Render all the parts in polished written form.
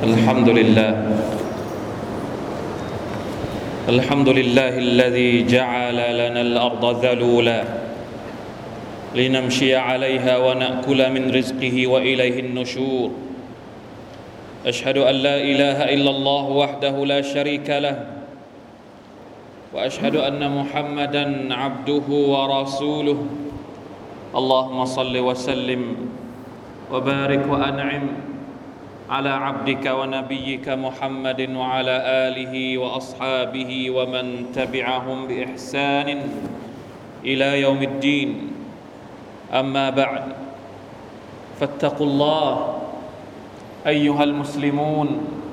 الحمد لله الحمد لله الذي جعل لنا الأرض ذلولا لنمشي عليها ونأكل من رزقه وإليه النشور أشهد أن لا إله إلا الله وحده لا شريك له وأشهد أن محمدًا عبده ورسوله اللهم صل وسلم وبارك وأنعم على عبدك ونبيك محمد وعلى آله وأصحابه ومن تبعهم بإحسان إلى يوم الدين أما بعد فاتقوا الله أيها المسلمون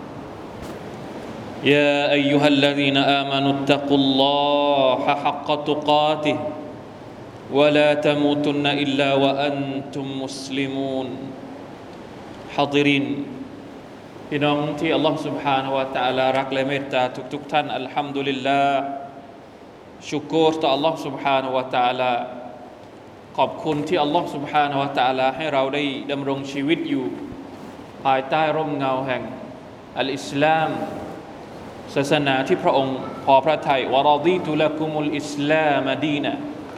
يا أيها الذين آمنوا اتقوا الله حق تقاته ولا تموتن إلا وأنتم مسلمون حاضرينพี่น้องที่อัลลอฮฺ سبحانه และ تعالى รักและเมตตาทุกท่านอัลฮัมดุลิลลาห์ชุกรต่ออัลลอฮฺ سبحانه และ تعالى ขอบคุณที่อัลลอฮฺ سبحانه และ تعالى ให้เราได้ดำรงชีวิตอยู่ภายใต้ร่มเงาแห่งอัลอิสลามศาสนาที่พระองค์พอพระทัยวะรอฎีตุละกุมุลอิสลามดีนะ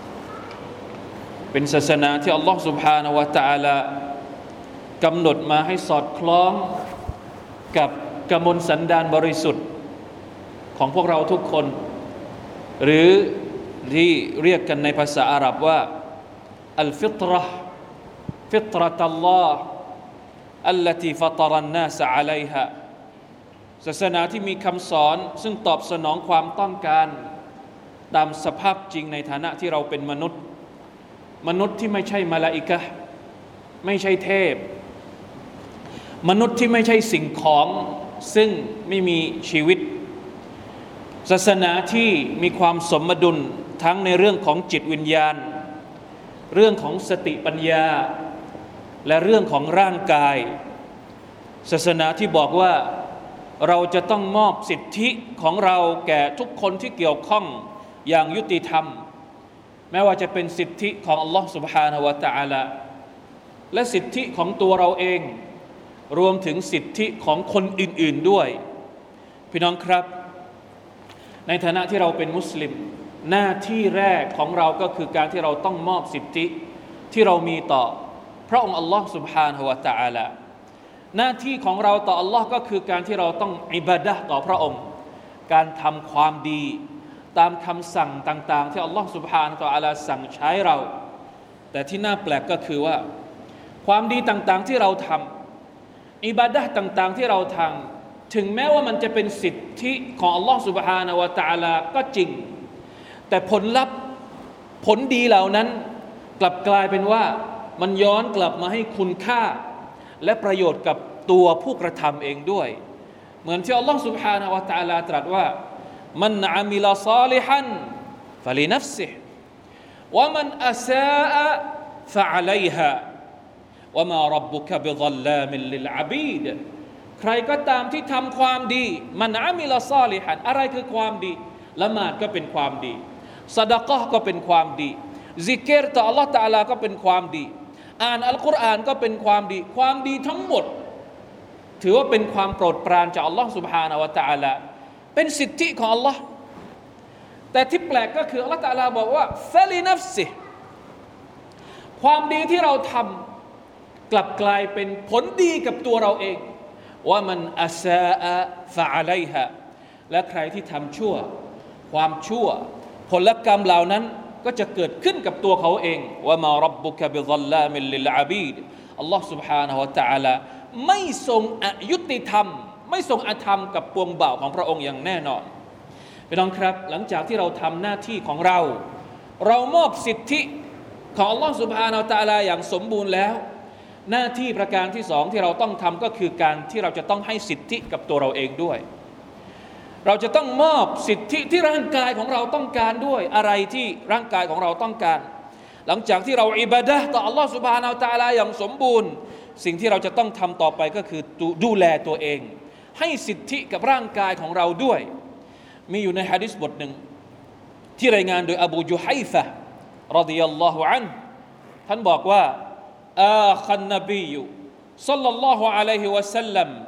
เป็นศาสนาที่อัลลอฮฺ سبحانه และ تعالى กำหนดมาให้สอดคล้องกับกมลสันดานบริสุทธิ์ของพวกเราทุกคนหรือที่เรียกกันในภาษาอาหรับว่าอัลฟิตเราะห์ฟิตเราะตัลลอฮ์อัลลัตีฟะตะรันนาสอะลัยฮาศาสนาที่มีคำสอนซึ่งตอบสนองความต้องการตามสภาพจริงในฐานะที่เราเป็นมนุษย์ที่ไม่ใช่มลาอิกะฮ์ไม่ใช่เทพมนุษย์ที่ไม่ใช่สิ่งของซึ่งไม่มีชีวิตศาสนาที่มีความสมดุลทั้งในเรื่องของจิตวิญญาณเรื่องของสติปัญญาและเรื่องของร่างกายศาสนาที่บอกว่าเราจะต้องมอบสิทธิของเราแก่ทุกคนที่เกี่ยวข้องอย่างยุติธรรมแม้ว่าจะเป็นสิทธิของอัลลอฮฺ سبحانه และ تعالى และสิทธิของตัวเราเองรวมถึงสิทธิของคนอื่นๆด้วยพี่น้องครับในฐานะที่เราเป็นมุสลิมหน้าที่แรกของเราก็คือการที่เราต้องมอบสิทธิที่เรามีต่อพระองค์อัลลอฮฺ سبحانه และ تعالى หน้าที่ของเราต่ออัลลอฮ์ก็คือการที่เราต้องอิบาดะห์ต่อพระองค์การทำความดีตามคำสั่งต่างๆที่อัลลอฮ์ سبحانه และ تعالى สั่งใช้เราแต่ที่น่าแปลกก็คือว่าความดีต่างๆที่เราทำอิบาดะห์ต่างๆที่เราทำถึงแม้ว่ามันจะเป็นสิทธิของอัลลอฮฺ سبحانه และ تعالى ก็จริงแต่ผลลัพธ์ผลดีเหล่านั้นกลับกลายเป็นว่ามันย้อนกลับมาให้คุณค่าและประโยชน์กับตัวผู้กระทำเองด้วยเหมือนที่อัลลอฮฺ سبحانه และ تعالى ตรัสว่ามันอามิลซอลิฮันฟะลินัฟซิฮิวะมันอาซาอะฟะอะลัยฮาวะมาร็อบบุกะบิฎัลลามินลิลอะบีดใครก็ตามที่ทำความดีมันอามิลซอลิฮันอะไรคือความดีละหมาดก็เป็นความดีซะดะกะห์ก็เป็นความดีซิกรต่ออัลเลาะห์ตะอาลาก็เป็นความดีอ่านอัลกุรอานก็เป็นความดีความดีทั้งหมดถือว่าเป็นความโปรดปรานจากอัลลอฮฺ سبحانه และ تعالى เป็นสิทธิของอัลลอฮ์แต่ที่แปลกก็คืออัลลอฮฺตะอาลาบอกว่าฟะลินัฟซิฮิความดีที่เราทำกลับกลายเป็นผลดีกับตัวเราเองว่ามันอาซาอะฟะอะลัยฮาและใครที่ทำชั่วความชั่วผลกรรมเหล่านั้นก็จะเกิดขึ้นกับตัวเขาเองว่ามาร็อบบุกะบิฎัลลามินลิลอะบีดอัลลอฮฺ سبحانه และ تعالى ไม่ทรงอยุติธรรมไม่ทรงอธรรมกับปวงบ่าวของพระองค์อย่างแน่นอนพี่น้องครับหลังจากที่เราทำหน้าที่ของเรามอบสิทธิของอัลลอฮฺ سبحانه และ تعالى อย่างสมบูรณ์แล้วหน้าที่ประการที่สองที่เราต้องทำก็คือการที่เราจะต้องให้สิทธิกับตัวเราเองด้วยเราจะต้องมอบสิทธิที่ร่างกายของเราต้องการด้วยอะไรที่ร่างกายของเราต้องการหลังจากที่เราอิบาดะห์ต่ออัลลอฮฺ سبحانه และ تعالى อย่างสมบูรณ์สิ่งที่เราจะต้องทำต่อไปก็คือดูแลตัวเองให้สิทธิกับร่างกายของเราด้วยมีอยู่ในหะดีษบทหนึ่งที่รายงานโดยอบูจุฮัยฟะห์รอฎิยัลลอฮุอันฮุท่านบอกว่าอาคันนบีศ็อลลัลลอฮุอะลัยฮิวะซัลลัม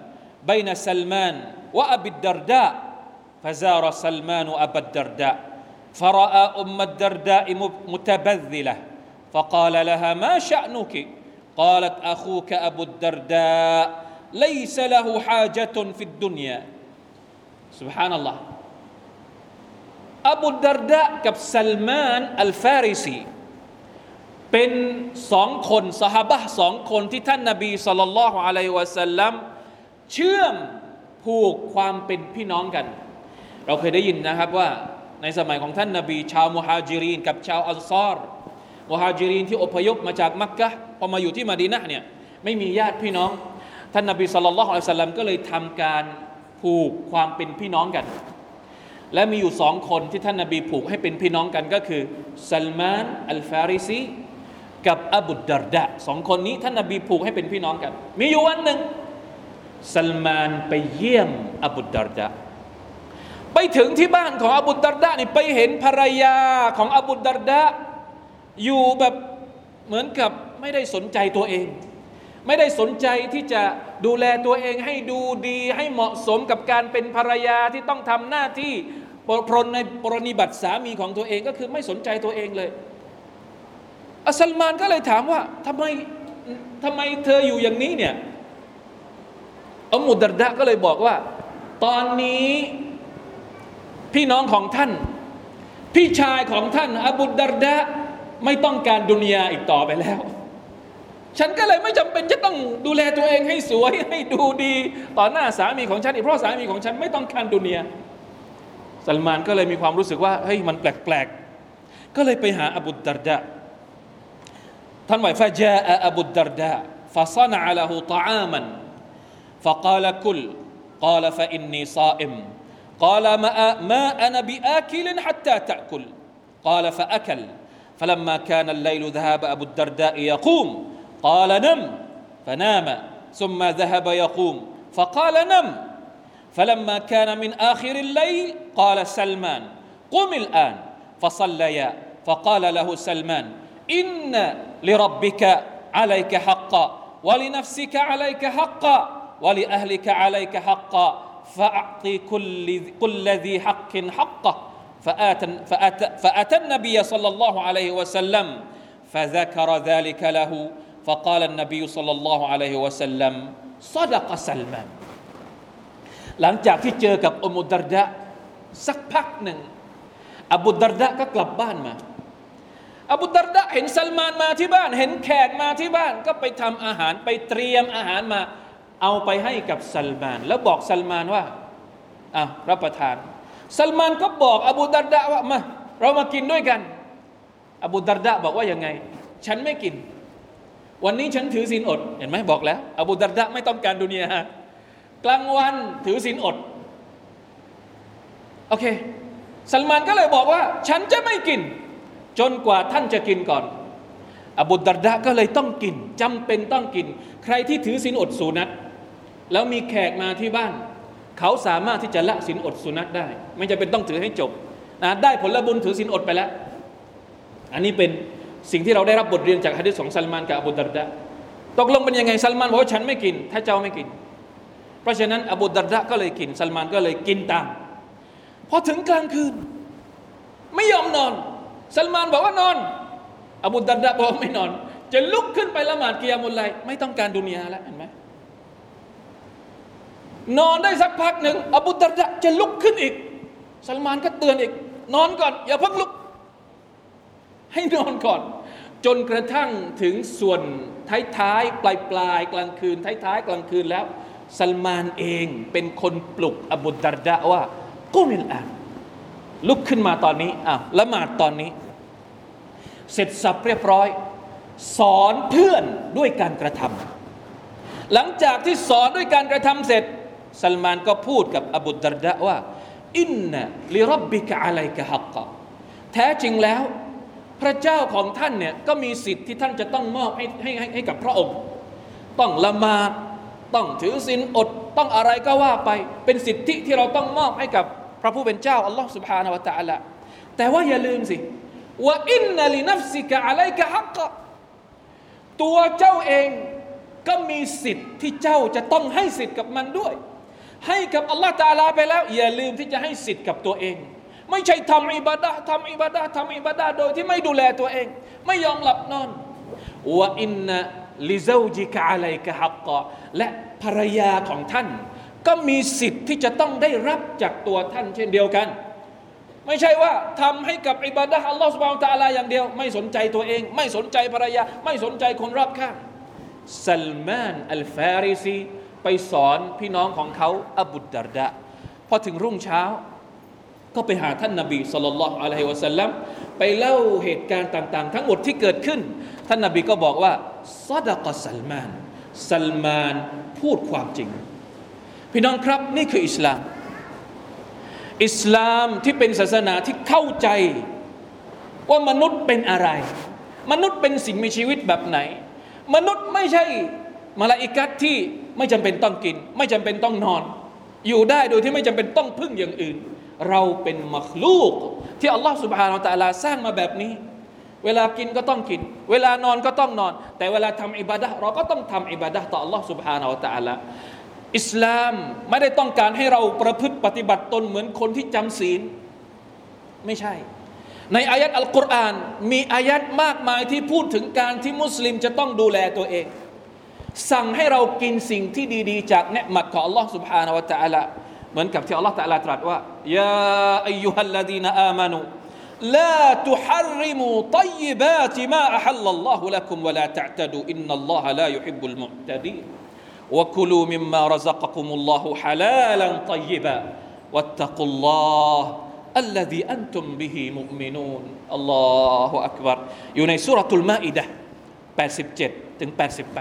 بين سلمان وأبي الدرداء فزار سلمان أبا الدرداء فرأى أم الدرداء متبذلة فقال لها ما شأنك قالت أخوك أبو الدرداء ليس له حاجة في الدنيا سبحان الله อบูดัรดะห์กับซัลมานอัลฟาริซีเป็นสองคนซอฮาบะห์สองคนที่ท่านนบีศ็อลลัลลอฮุอะลัยฮิวะซัลลัมเชื่อมผูกความเป็นพี่น้องกันเราเคยได้ยินนะครับว่าในสมัยของท่านนบีชาวมุฮาญิรินกับชาวอันซอรมุฮาญิรินที่อพยพมาจากมักกะฮ์พอมาอยู่ที่มะดีนะห์เนี่ยไม่มีญาติพี่น้องท่านนบีศ็อลลัลลอฮุอะลัยฮิวะซัลลัมก็เลยทำการผูกความเป็นพี่น้องกันและมีอยู่สองคนที่ท่านนบีผูกให้เป็นพี่น้องกันก็คือซัลมานอัลฟาริซีกับอบูดัรดะห์สองคนนี้ท่านนบีผูกให้เป็นพี่น้องกันมีอยู่วันหนึ่งซัลมานไปเยี่ยมอบูดัรดะห์ไปถึงที่บ้านของอบูดัรดะห์นี่ไปเห็นภรรยาของอบูดัรดะห์อยู่แบบเหมือนกับไม่ได้สนใจตัวเองไม่ได้สนใจที่จะดูแลตัวเองให้ดูดีให้เหมาะสมกับการเป็นภรรยาที่ต้องทำหน้าที่ปรนนิบัติสามีของตัวเองก็คือไม่สนใจตัวเองเลยอัสซัลมานก็เลยถามว่าทำไมเธออยู่อย่างนี้เนี่ยอุมมุดัรดะห์ก็เลยบอกว่าตอนนี้พี่น้องของท่านพี่ชายของท่านอบูดัรดะห์ไม่ต้องการดุนยาอีกต่อไปแล้วฉันก็เลยไม่จำเป็นจะต้องดูแลตัวเองให้สวยให้ดูดีต่อหน้าสามีของฉันอีกเพราะสามีของฉันไม่ต้องการดุนยาซัลมานก็เลยมีความรู้สึกว่าเฮ้ยมันแปลกๆก็เลยไปหาอบูดัรดะห์ท่านว่าฟะจาอะอบูดัรดะห์ฟะศะนะอะละฮูฏออามันฟะกาลกุลกาลฟะอินนีศาอิมกาลมาอะนะบิอาคิลฮัตตาตะกุลกาลฟะอะคัลفلما كان الليل ذهب أبو الدرداء يقوم قال نم فنام ثم ذهب يقوم فقال نم فلما كان من آخر الليل قال سلمان قم الآن فصليا فقال له سلمان إن لربك عليك حقا ولنفسك عليك حقا ولأهلك عليك حقا فأعطي كل ذي حق حقه فأتى النبي صلى الله عليه وسلم فذكر ذلك له فقال النبي صلى الله عليه وسلم صدق سلمان หลังจากที่เจอกับอุมมุดัรดะห์สักพักหนึ่งอบูดัรดะห์ก็กลับบ้านมาอบูดัรดะห์เห็นซัลมานมาที่บ้านเห็นแขกมาที่บ้านก็ไปทำอาหารไปเตรียมอาหารมาเอาไปให้กับซัลมานแล้วบอกซัลมานว่ารับประทานซัลมานก็บอกอบูดัรดะห์ว่ามาเรามากินด้วยกันอบูดัรดะห์บอกว่ายังไงฉันไม่กินวันนี้ฉันถือศีลอดเห็นไหมบอกแล้วอบูดัรดะห์ไม่ต้องการดุนยากลางวันถือศีลอดโอเคซัลมานก็เลยบอกว่าฉันจะไม่กินจนกว่าท่านจะกินก่อนอบูดัรดะห์ก็เลยต้องกินจำเป็นต้องกินใครที่ถือศีลอดสุนัตแล้วมีแขกมาที่บ้านเขาสามารถที่จะละศีลอดสุนัตได้ไม่จำเป็นต้องถือให้จบนะได้ผลบุญถือศีลอดไปแล้วอันนี้เป็นสิ่งที่เราได้รับบทเรียนจากหะดีษของซัลมานกับอบูดัรดะห์ตกลงเป็นยังไงซัลมานบอกว่าฉันไม่กินถ้าเจ้าไม่กินเพราะฉะนั้นอบูดัรดะห์ก็เลยกินซัลมานก็เลยกินตามพอถึงกลางคืนไม่ยอมนอนซัลมานบอกว่านอนอบูดัรดะห์บอกไม่นอนจะลุกขึ้นไปละหมาดกิยามุลไลล์ไม่ต้องการดุนยาแล้วเห็นไหมนอนได้สักพักหนึ่งอบูดัรดะห์จะลุกขึ้นอีกซัลมานก็เตือนอีกนอนก่อนอย่าเพิ่งลุกให้นอนก่อนจนกระทั่งถึงส่วนท้ายๆปลายกลางคืนท้ายกลางคืนแล้วซัลมานเองเป็นคนปลุกอบูดัรดะห์ว่ากุมิลอาลุกขึ้นมาตอนนี้ละหมาดตอนนี้เสร็จสับเรียบร้อยสอนเพื่อนด้วยการกระทำหลังจากที่สอนด้วยการกระทำเสร็จซัลมานก็พูดกับอบูดัรดะห์ว่าอินนะลิร็อบบิกะอะลัยกะฮักกะแท้จริงแล้วพระเจ้าของท่านเนี่ยก็มีสิทธิ์ที่ท่านจะต้องมอบให้กับพระองค์ต้องละหมาดต้องถือศีลอดต้องอะไรก็ว่าไปเป็นสิทธิที่เราต้องมอบให้กับพระผู้เป็นเจ้าอัลลอฮฺ سبحانه และ تعالى แต่ว่าอย่าลืมสิว่าอินนะลินัฟซิกะอะลัยกะฮักกะตัวเจ้าเองก็มีสิทธิ์ที่เจ้าจะต้องให้สิทธิ์กับมันด้วยให้กับอัลลอฮฺตะอาลาไปแล้วอย่าลืมที่จะให้สิทธิ์กับตัวเองไม่ใช่ทำอิบาดะห์โดยที่ไม่ดูแลตัวเองไม่ยอมหลับนอนวะอินนะลิซาวจิกะอะลัยกะฮักกะและภรรยาของท่านก็มีสิทธิ์ที่จะต้องได้รับจากตัวท่านเช่นเดียวกันไม่ใช่ว่าทำให้กับอิบาดะห์อัลลอฮฺซุบฮานะฮูวะตะอาลาอย่างเดียวไม่สนใจตัวเองไม่สนใจภรรยาไม่สนใจคนรอบข้างซัลมานอัลฟาริซีไปสอนพี่น้องของเขาอบูดาร์ดะพอถึงรุ่งเช้าก็ไปหาท่านนบีศ็อลลัลลอฮุอะลัยฮิวะซัลลัมไปเล่าเหตุการณ์ต่างๆทั้งหมดที่เกิดขึ้นท่านนบีก็บอกว่าซอดะกะซัลมานพูดความจริงพี่น้องครับนี่คืออิสลามที่เป็นศาสนาที่เข้าใจว่ามนุษย์เป็นอะไรมนุษย์เป็นสิ่งมีชีวิตแบบไหนมนุษย์ไม่ใช่มลาอิกะฮ์ที่ไม่จำเป็นต้องกินไม่จำเป็นต้องนอนอยู่ได้โดยที่ไม่จำเป็นต้องพึ่งอย่างอื่นเราเป็นมัคลูกที่อัลลอฮฺซุบฮานะฮูวะตะอาลาสร้างมาแบบนี้เวลากินก็ต้องกินเวลานอนก็ต้องนอนแต่เวลาทำอิบาดะห์เราก็ต้องทำอิบาดะห์ต่ออัลลอฮฺซุบฮานะฮูวะตะอาลาอิสลามไม่ได้ต้องการให้เราประพฤติปฏิบัติตนเหมือนคนที่จำศีลไม่ใช่ในอายัดอัลกุรอานมีอายัดมากมายที่พูดถึงการที่มุสลิมจะต้องดูแลตัวเองสั่งให้เรากินสิ่งที่ดีๆจากเนืมัดของอัลลอฮฺซุบฮานะฮูวะตะอาลาเหมือนกับที่อัลลอฮฺตะอาลาตรัสว่ายาอัยยูฮัลลดีนอามานูลาตุฮัรริมูฏอยยิบาติมาอะฮัลลัลลอฮุละกุมวะลาตะอ์ตะดูอินนัลลอฮะลายุฮิบบุลมุอ์ตะดีนวะกุลูมิมมาระซักะกุมุลลอฮุฮะลาลันฏอยยิบะวัตตะกุลลอฮอัลลซีอันตุมบิฮิมุอ์มินูนอัลลอฮุอักบัรอยู่ในซูเราะตุลมาอิดะห์87ถึง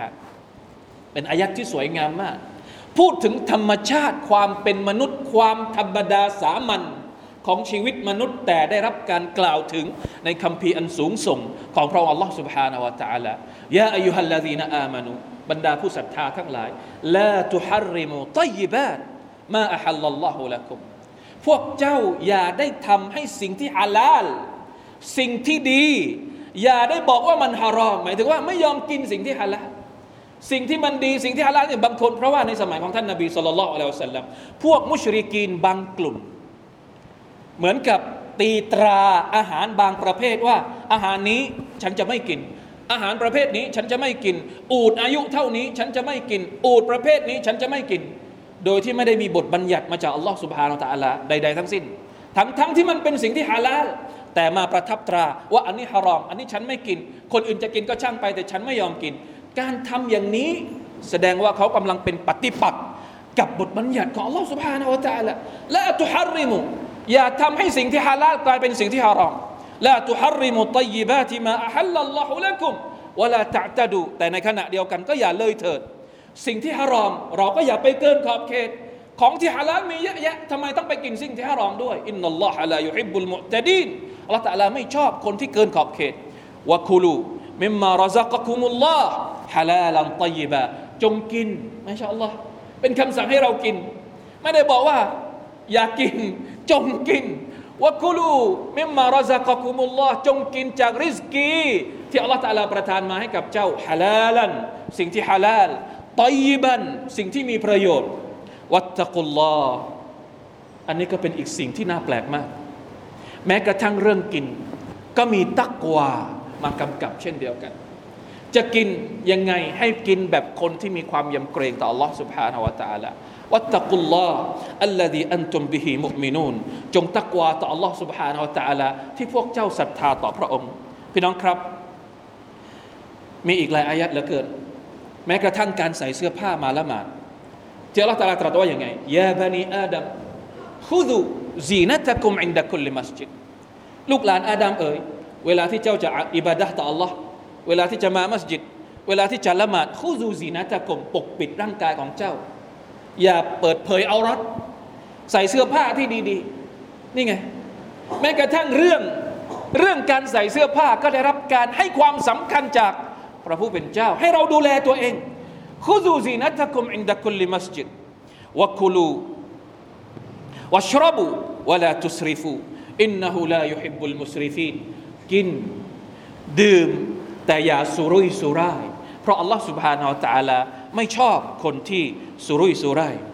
88เป็นอายัดที่สวยงามมากพูดถึงธรรมชาติความเป็นมนุษย์ความธรรมดาสามัญของชีวิตมนุษย์แต่ได้รับการกล่าวถึงในคัมภีร์อันสูงส่งของพระองค์อัลลอฮฺ سبحانه และ تعالى ยาอัยยูฮัลลซีนอามานูบรรดาผู้ศรัทธาทั้งหลายลาตุฮัรริมูฏอยยิบาตมาอะฮัลลัลลอฮุละกุมพวกเจ้าอย่าได้ทำให้สิ่งที่ฮาลาลสิ่งที่ดีอย่าได้บอกว่ามันฮารอมหมายถึงว่าไม่ยอมกินสิ่งที่ฮาลาลสิ่งที่มันดีสิ่งที่ฮาลาลเนี่ยบางคนเพราะว่าในสมัยของท่านนบีศ็อลลัลลอฮุอะลัยฮิวะซัลลัมพวกมุชริกีนบางกลุ่มเหมือนกับตีตราอาหารบางประเภทว่าอาหารนี้ฉันจะไม่กินอาหารประเภทนี้ฉันจะไม่กินอูฐอายุเท่านี้ฉันจะไม่กินอูฐประเภทนี้ฉันจะไม่กินโดยที่ไม่ได้มีบทบัญญัติมาจากอัลลอฮฺซุบฮานะฮูวะตะอาลาใดๆทั้งสิ้นทั้งที่มันเป็นสิ่งที่ฮาลาลแต่มาประทับตราว่าอันนี้ฮารอมอันนี้ฉันไม่กินคนอื่นจะกินก็ช่างไปแต่ฉันไม่ยอมกินการทำอย่างนี้แสดงว่าเขากำลังเป็นปฏิปักษ์กับบทบัญญัติของอัลลอฮฺซุบฮานะฮูวะตะอาลาละตุฮัรริมุอย่าทำให้สิ่งที่ฮาลาลกลายเป็นสิ่งที่ฮารอมลาตุฮัรริมุฏอยยิบาติมาอะฮัลลัลลอฮุละกุมวะลาตะอ์ตะดูแต่ในขณะเดียวกันก็อย่าเลยเถิดสิ่งที่ฮารอมเราก็อย่าไปเกินขอบเขตของที่ฮาลาลมีเยอะแยะทำไมต้องไปกินสิ่งที่ฮารอมด้วยอินนัลลอฮะลายุฮิบบุลมุอ์ตะดีนอัลเลาะห์ตะอาลาไม่ชอบคนที่เกินขอบเขตวะคุลูมิมมาระซักะกุมุลลอฮฮะลาลันฏอยยิบะจงกินมาชาอัลลอฮ์เป็นคำสั่งให้เรากินไม่ได้บอกว่าอย่ากินจงกินวะกุลูมิมมาระซักะกุมุลลอฮจงกินจากริซกีที่อัลเลาะห์ตะอาลาประทานมาให้กับเจ้าฮะลาลันสิ่งที่ฮาลาลฏอยยิบันสิ่งที่มีประโยชน์วัตตะกุลลอฮอันนี้ก็เป็นอีกสิ่งที่น่าแปลกมากแม้กระทั่งเรื่องกินก็มีตักวามากำกับเช่นเดียวกันจะกินยังไงให้กินแบบคนที่มีความยำเกรงต่อ Allah سبحانه และ تعالى วัตตะกุลลอฮอัลลซีอันตุมบิฮิมุอ์มินูนจงตักวาต่อ Allah سبحانه และ تعالى ที่พวกเจ้าศรัทธาต่อพระองค์พี่น้องครับมีอีกหลายอายัดเหลือเกินแม้กระทั่งการใส่เสื้อผ้ามาละหมาดที่ Allah تعالى ตรัสว่าอย่างไงยาบะนีอาดัมคุซุซีนะตะกุมอินดะคุลมัสญิดลูกหลานอาดัมเอ๋ยเวลาที่เจ้าจะอิบาดะห์ต่อ Allah เวลาที่จะมามัสยิดเวลาที่จะละหมาดคุซูซีนะตะกุมปกปิดร่างกายของเจ้าอย่าเปิดเผยเอารัดใส่เสื้อผ้าที่ดีๆนี่ไงแม้กระทั่งเรื่องการใส่เสื้อผ้าก็ได้รับการให้ความสำคัญจากพระผู้เป็นเจ้าให้เราดูแลตัวเองคุซูซีนะตะกุมอินดะคุลมัสยิดวะกุลูวัชรบูวะลาตุสริฟูอินนะฮูลายุฮิบบุลมุสริฟีนกินดื่มแต่อย่าสุรุ่ยสุร่ายเพราะอัลลอฮฺ سبحانه และ تعالى ไม่ชอบคนที่สุรุ่ยสุร่าย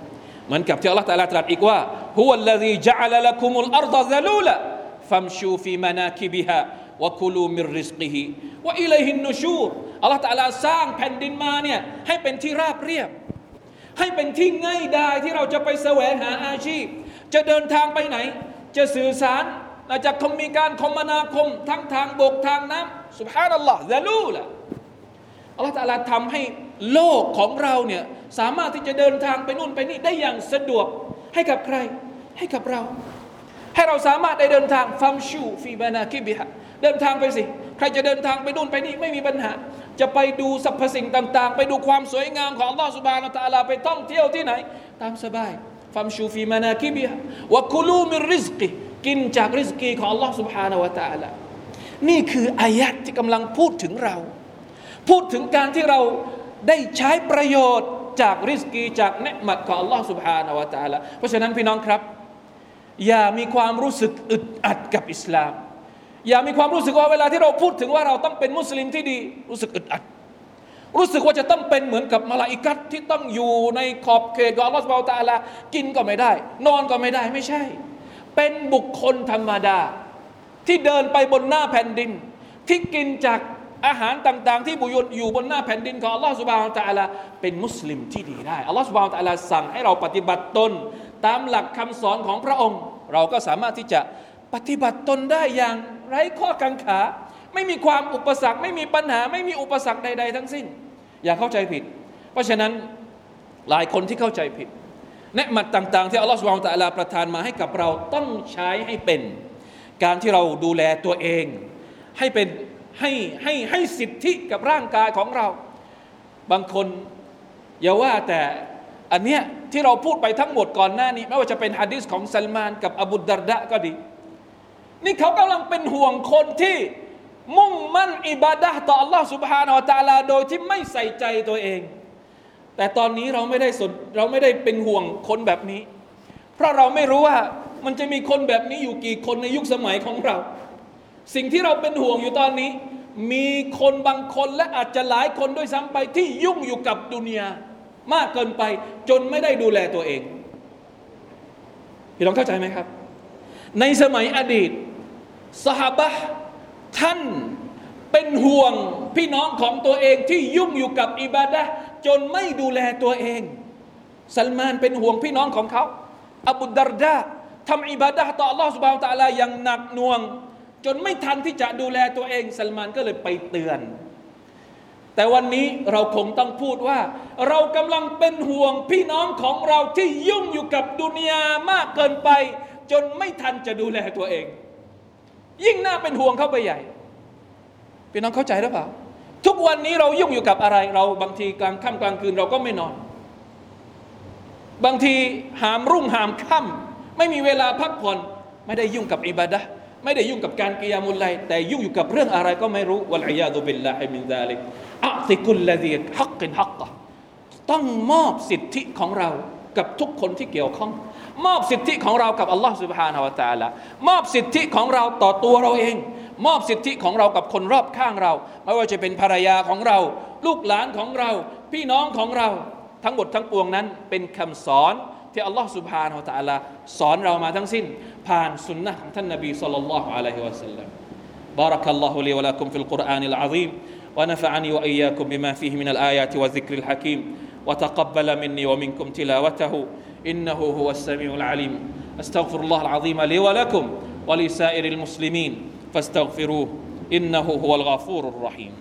เหมือนกับที่อัลเลาะห์ตะอาลาตรัสอีกว่าฮุวัลลซีญะอะละละกุมุลอัรฎะซะลูละฟัมชูฟีมานาคิบิฮาวะกุลูมิรริซกิฮิวะอิลัยฮินนุชูรอัลเลาะห์ตะอาลาสร้างแผ่นดินมาเนี่ยให้เป็นที่ราบเรียบให้เป็นที่ง่ายดายที่เราจะไปแสวงหาอาชีพจะเดินทางไปไหนจะสื่อสารจะมีการคมนาคมทั้งทางบกทางน้ำซุบฮานัลลอฮ์ซะลูละอัลเลาะห์ตะอาลาทำให้โลกของเราเนี่ยสามารถที่จะเดินทางไปนู่นไปนี่ได้อย่างสะดวกให้กับใครให้กับเราให้เราสามารถได้เดินทางฟัมชูฟีบานาคิบิฮะเดินทางไปสิใครจะเดินทางไปนู่นไปนี่ไม่มีปัญหาจะไปดูสรรพสิ่งต่างๆไปดูความสวยงามของอัลลอฮฺซุบฮานะฮูวะตะอาลาไปท่องเที่ยวที่ไหนตามสบายฟัมชูฟีมานาคิบิฮะวะกุลูมิรริซกิกินจากริซกีของอัลลอฮฺซุบฮานะฮูวะตะอาลานี่คืออายะห์ที่กำลังพูดถึงเราพูดถึงการที่เราได้ใช้ประโยชน์จากริซกีจากเนืมัตของอัลลอฮฺซุบฮานะฮูวะตะอาลาเพราะฉะนั้นพี่น้องครับอย่ามีความรู้สึกอึดอัดกับอิสลามอย่ามีความรู้สึกว่าเวลาที่เราพูดถึงว่าเราต้องเป็นมุสลิมที่ดีรู้สึกอึดอัดรู้สึกว่าจะต้องเป็นเหมือนกับมลาอิกัตที่ต้องอยู่ในขอบเขตของอัลลอฮฺซุบฮานะฮูวะตะอาลากินก็ไม่ได้นอนก็ไม่ได้ไม่ใช่เป็นบุคคลธรรมดาที่เดินไปบนหน้าแผ่นดินที่กินจากอาหารต่างๆที่บุญอยู่บนหน้าแผ่นดินของอัลลอฮฺซุบฮานะฮูวะตะอาลาเป็นมุสลิมที่ดีได้อัลลอฮฺซุบฮานะฮูวะตะอาลาสั่งให้เราปฏิบัติตนตามหลักคำสอนของพระองค์เราก็สามารถที่จะปฏิบัติตนได้อย่างไร้ข้อกังขาไม่มีความอุปสรรคไม่มีปัญหาไม่มีอุปสรรคใดๆทั้งสิ้นอย่าเข้าใจผิดเพราะฉะนั้นหลายคนที่เข้าใจผิดเนืมัตต่างๆที่อัลลอฮฺซุบฮานะฮูวะตะอาลาประทานมาให้กับเราต้องใช้ให้เป็นการที่เราดูแลตัวเองให้เป็นให้สิทธิกับร่างกายของเราบางคนอย่าว่าแต่อันเนี้ยที่เราพูดไปทั้งหมดก่อนหน้านี้ไม่ว่าจะเป็นหะดีษของซัลมานกับอบูดัรดะก็ดีนี่เขากำลังเป็นห่วงคนที่มุ่งมั่นอิบาดะห์ต่ออัลลอฮฺ سبحانه และ تعالى โดยที่ไม่ใส่ใจตัวเองแต่ตอนนี้เราไม่ได้เป็นห่วงคนแบบนี้เพราะเราไม่รู้ว่ามันจะมีคนแบบนี้อยู่กี่คนในยุคสมัยของเราสิ่งที่เราเป็นห่วงอยู่ตอนนี้มีคนบางคนและอาจจะหลายคนด้วยซ้ำไปที่ยุ่งอยู่กับดุนยามากเกินไปจนไม่ได้ดูแลตัวเองพี่น้องเข้าใจไหมครับในสมัยอดีตซอฮาบะห์ท่านเป็นห่วงพี่น้องของตัวเองที่ยุ่งอยู่กับอิบาดะห์จนไม่ดูแลตัวเองซัลมานเป็นห่วงพี่น้องของเขาอบูดัรดาทำอิบาดะห์ต่ออัลลอฮฺซุบฮานะฮูวะตะอาลาอย่างหนักหน่วงจนไม่ทันที่จะดูแลตัวเองซัลมานก็เลยไปเตือนแต่วันนี้เราคงต้องพูดว่าเรากำลังเป็นห่วงพี่น้องของเราที่ยุ่งอยู่กับดุนยามากเกินไปจนไม่ทันจะดูแลตัวเองยิ่งน่าเป็นห่วงเข้าไปใหญ่พี่น้องเข้าใจหรือเปล่าทุกวันนี้เรายุ่งอยู่กับอะไรเราบางทีกลางค่ำกลางคืนเราก็ไม่นอนบางทีหามรุ่งหามค่ำไม่มีเวลาพักผ่อนไม่ได้ยุ่งกับอิบาดะห์ไม่ได้ยุ่งกับการกิยามุลไลล์แต่ยุ่งอยู่กับเรื่องอะไรก็ไม่รู้วัลอียาซุบิลลาฮิมินซาลิกอะติกุลลซีฮักกินฮักกะต้องมอบสิทธิของเรากับทุกคนที่เกี่ยวข้องมอบสิทธิของเรากับอัลลอฮฺ سبحانه และ تعالى มอบสิทธิของเราต่อตัวเราเองมอบสิทธิของเรากับคนรอบข้างเราไม่ว่าจะเป็นภรรยาของเราลูกหลานของเราพี่น้องของเราทั้งหมดทั้งปวงนั้นเป็นคำสอนที่อัลลอฮฺ سبحانه และ تعالى สอนเรามาทั้งสิ้นผ่านสุนนะของท่านนบีศ็อลลัลลอฮุอะลัยฮิวะซัลลัม بارك الله لي ولكم في القرآن العظيم ونفعني وإياكم بما فيه من الآيات والذكر الحكيم وتقبل مني ومنكم تلاوته إنه هو السميع العليم أستغفر الله العظيم لي ولكم ولسائر المسلمين فاستغفروه إنه هو الغفور الرحيم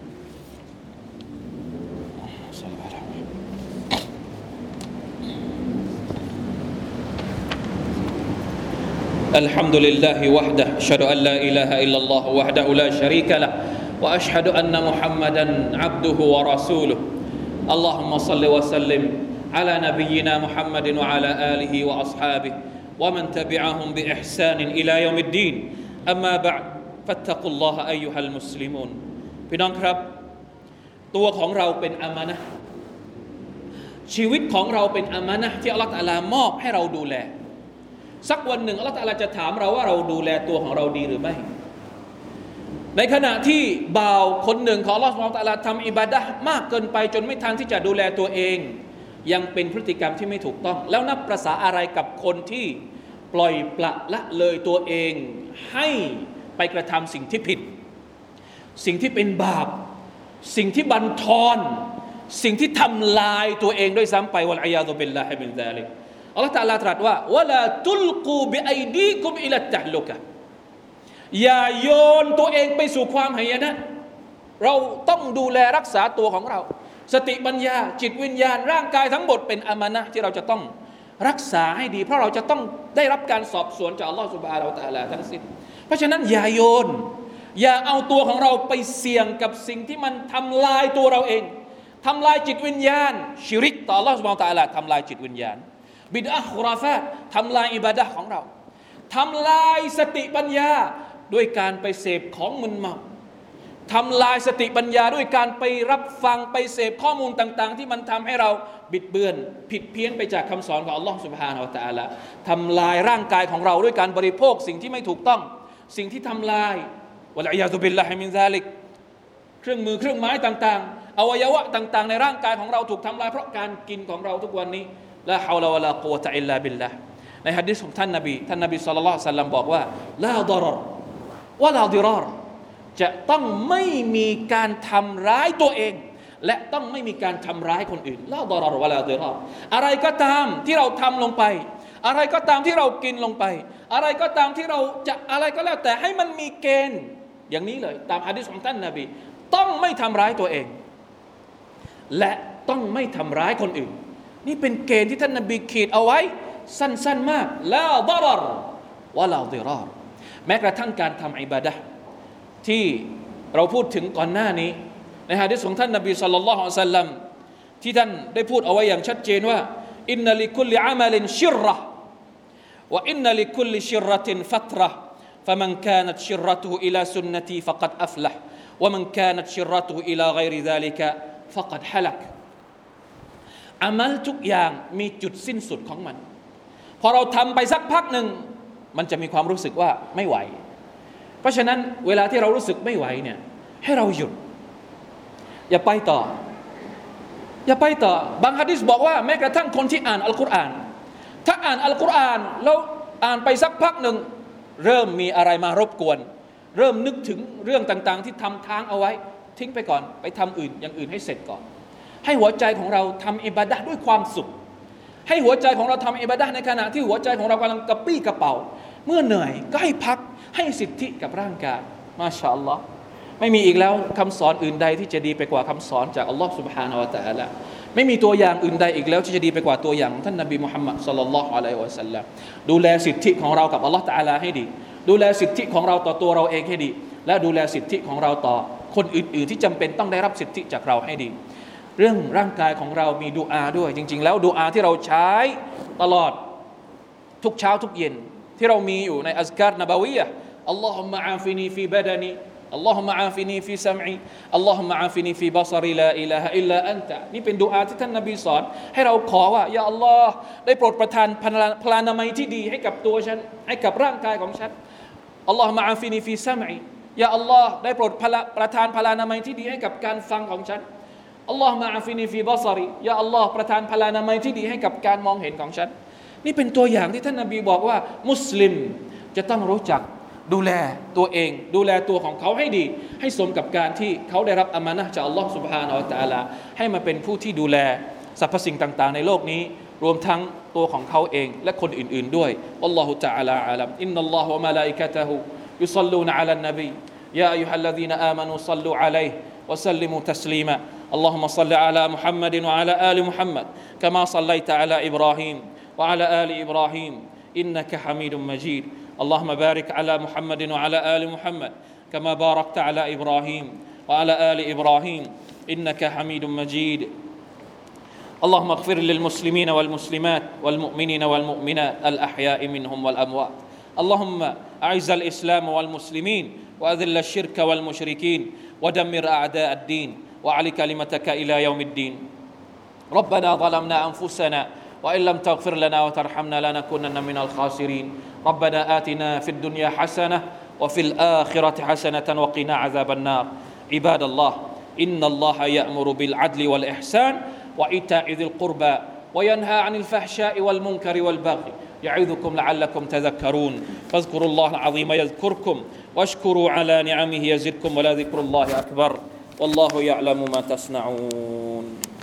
الحمد لله وحده أشهد أن لا إله إلا الله وحده لا شريك له وأشهد أن محمدا عبده ورسوله اللهم صل وسلم على نبينا محمد وعلى آله وأصحابه ومن تبعهم بإحسان إلى يوم الدين أما بعد فاتقوا الله أيها المسلمون พี่น้องครับตัวของเราเป็นอามานะห์ชีวิตของเราเป็นอามานะห์ที่อัลเลาะห์ตะอาลามอบให้เราดูแลสักวันหนึ่งอัลเลาะห์ตะอาลาจะถามเราว่าเราดูแลตัวของเราดีหรือไม่ในขณะที่บ่าวคนหนึ่งของอัลเลาะห์ซุบฮานะฮูวะตะอาลาทำอิบาดะห์มากเกินไปจนไม่ทันที่จะดูแลตัวเองยังเป็นพฤติกรรมที่ไม่ถูกต้องแล้วนับประสาอะไรกับคนที่ปล่อยปละละเลยตัวเองให้ไปกระทำสิ่งที่ผิดสิ่งที่เป็นบาปสิ่งที่บั่นทอนสิ่งที่ทำลายตัวเองด้วยซ้ำไปวัลอียาซุบิลลาฮิมินซาลิกอัลลอฮฺตะอาลาตรัสว่าวะลาตุลกูบิอัยดีกุมอิลัตตะฮลุกะอย่าโยนตัวเองไปสู่ความหายนะเราต้องดูแลรักษาตัวของเราสติปัญญาจิตวิญญาณร่างกายทั้งหมดเป็นอามานะห์ที่เราจะต้องรักษาให้ดีเพราะเราจะต้องได้รับการสอบสวนจากอัลลอฮฺซุบฮานะฮูวะตะอาลาทั้งสิ้นเพราะฉะนั้นอย่าโยนอย่าเอาตัวของเราไปเสี่ยงกับสิ่งที่มันทำลายตัวเราเองทำลายจิตวิญญาณชิริกต่ออัลลอฮฺซุบฮานะฮูวะตะอาลาทำลายจิตวิญญาณบิดอะห์คุราฟาตทำลายอิบาดะห์ของเราทำลายสติปัญญาด้วยการไปเสพของมึนเมาทำลายสติปัญญาด้วยการไปรับฟังไปเสพข้อมูลต่างๆที่มันทำให้เราบิดเบือนผิดเพี้ยนไปจากคำสอนของอัลลอฮฺซุบฮานะฮูวะตะอาลาทำลายร่างกายของเราด้วยการบริโภคสิ่งที่ไม่ถูกต้องสิ่งที่ทำลายวะลัยยาซุบิลลาฮิมินซาลิกเครื่องมือเครื่องไม้ต่างๆอวัยวะต่างๆในร่างกายของเราถูกทำลายเพราะการกินของเราทุกวันนี้ลาฮาวลาวะลากุวะตะอิลลาบิลลาห์ในหะดีษของท่านนบีศ็อลลัลลอฮุอะลัยฮิวะซัลลัมบอกว่าลาฎอรรวะลาฎิรารจะต้องไม่มีการทำร้ายตัวเองและต้องไม่มีการทำร้ายคนอื่นลาฎอรรวะลาฎิรารอะไรก็ตามที่เราทำลงไปอะไรก็ตามที่เรากินลงไปอะไรก็ตามที่เราจะอะไรก็แล้วแต่ให้มันมีเกณฑ์อย่างนี้เลยตามหะดีษของท่านนบีต้องไม่ทำร้ายตัวเองและต้องไม่ทำร้ายคนอื่นนี่เป็นเกณฑ์ที่ท่านนบีขีดเอาไว้สั้นๆมากลาฎอรรวะลาฎิรารแม้กระทั่งการทำอิบาดะห์ที่เราพูดถึงก่อนหน้านี้ในหะดีษของท่านนบีศ็อลลัลลอฮุอะลัยฮิวะซัลลัมที่ท่านได้พูดเอาไว้อย่างชัดเจนว่าอินนัลิคุลลิอามัลินชิรเราะห์วะอินนัลิคุลลิชิรเราะตินฟัตเราะห์فمن كانت شرته إلى سنتي فقد أفلح ومن كانت شرته إلى غير ذلك فقد هلك อามัลทุกอย่างมีจุดสิ้นสุดของมันพอเราทำไปสักพักหนึ่งมันจะมีความรู้สึกว่าไม่ไหวเพราะฉะนั้นเวลาที่เรารู้สึกไม่ไหวเนี่ยให้เราหยุดอย่าไปต่อบางหะดีษบอกว่าแม้กระทั่งคนที่อ่านอัลกุรอานถ้าอ่านอัลกุรอานแล้วอ่านไปสักพักหนึ่งเริ่มมีอะไรมารบกวนเริ่มนึกถึงเรื่องต่างๆที่ทำค้างเอาไว้ทิ้งไปก่อนไปทำอย่างอื่นให้เสร็จก่อนให้หัวใจของเราทำอิบาดะห์ด้วยความสุขให้หัวใจของเราทำอิบาดะห์ในขณะที่หัวใจของเรากำลังกระปี้กระเป๋าเมื่อเหนื่อยก็ให้พักให้สิทธิกับร่างกายมาชาอัลลอฮ์ไม่มีอีกแล้วคำสอนอื่นใดที่จะดีไปกว่าคำสอนจากอัลลอฮ์ سبحانه และ تعالى ไม่มีตัวอย่างอื่นใดอีกแล้วที่จะดีไปกว่าตัวอย่างของท่านนบีมุฮัมมัดศ็อลลัลลอฮุอะลัยฮิวะซัลลัมดูแลสิทธิของเรากับอัลลอฮ์ تعالى ให้ดีดูแลสิทธิของเราต่อตัวเราเองให้ดีและดูแลสิทธิของเราต่อคนอื่นๆที่จำเป็นต้องได้รับสิทธิจากเราให้ดีเรื่องร่างกายของเรามีดุอาด้วยจริงๆแล้วดุอาที่เราใช้ตลอดทุกเช้าทุกเย็นที่เรามีอยู่ในอัซการนบาวียะห์อัลลอฮุมมะอาฟินีฟีบะดานีอัลลอฮุมะอาฟินีฟีซัมอีอัลลอฮุมะอาฟินีฟีบะศรีลาอิลาฮะอิลลาอันตะนี่เป็นดุอาที่ท่านนบีสอนให้เราขอว่ายาอัลลอฮ์ได้โปรดประทานพลานามัยที่ดีให้กับตัวฉันให้กับร่างกายของฉันอัลลอฮุมะอาฟินีฟีซัมอียาอัลลอฮ์ได้โปรดประทานพลานามัยที่ดีให้กับการฟังของฉันอัลลอฮุมะอาฟินีฟีบะศรียาอัลลอฮ์ประทานพลานามัยที่ดีให้กับการมองเห็นของฉันนี่เป็นตัวอย่างที่ท่านนบีบอกว่ามุสลิมจะต้องรู้จักดูแลตัวเองดูแลตัวของเขาให้ดีให้สมกับการที่เขาได้รับอามานะห์จากอัลลอฮ์ سبحانه และ تعالى ให้มาเป็นผู้ที่ดูแลสรรพสิ่งต่างๆในโลกนี้รวมทั้งตัวของเขาเองและคนอื่นๆด้วยอัลลอฮุ تعالى อาลัมอินนัลลอฮะวะมะลาอิกะตุฮุยุศ็อลลูนอะลันนบียาอัยยูฮัลลซีนาอามานูศ็อลลูอะลัยฮิวะซัลลิมูตัสลีมา اللهم صل على محمد وعلى آل محمد كما صليت على إبراهيم وعلى آل إبراهيم إنك حميد مجيد اللهم بارك على محمد وعلى آل محمد كما باركت على إبراهيم وعلى آل إبراهيم إنك حميد مجيد اللهم اغفر للمسلمين والمسلمات والمؤمنين والمؤمنات الأحياء منهم والأموات اللهم أعز الإسلام والمسلمين وأذل الشرك والمشركين ودمر أعداء الدين وأعل كلمتك إلى يوم الدين ربنا ظلمنا أنفسنا وإن لم تغفر لنا وترحمنا لنكونن من الخاسرين ربنا آتنا في الدنيا حسنة وفي الآخرة حسنة وقنا عذاب النار عباد الله إن الله يأمر بالعدل والإحسان وإيتاء ذي القربى وينهى عن الفحشاء والمنكر والبغي يعظكم لعلكم تذكرون فاذكروا الله العظيم يذكركم واشكروا على نعمه يزدكم ولذكر الله أكبر والله يعلم ما تصنعون